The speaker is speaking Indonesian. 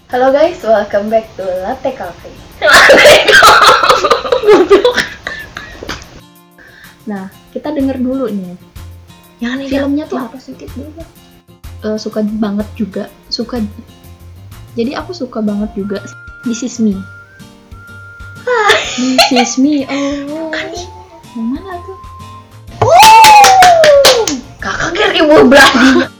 Halo guys, welcome back to Latte Cafe. Nah, kita denger dulu nih. Filmnya tuh apa sih dulu? Suka banget juga. Jadi aku suka banget juga. This is me. This is me. Oh. Yang mana tuh? Kakak kira ibu Brady.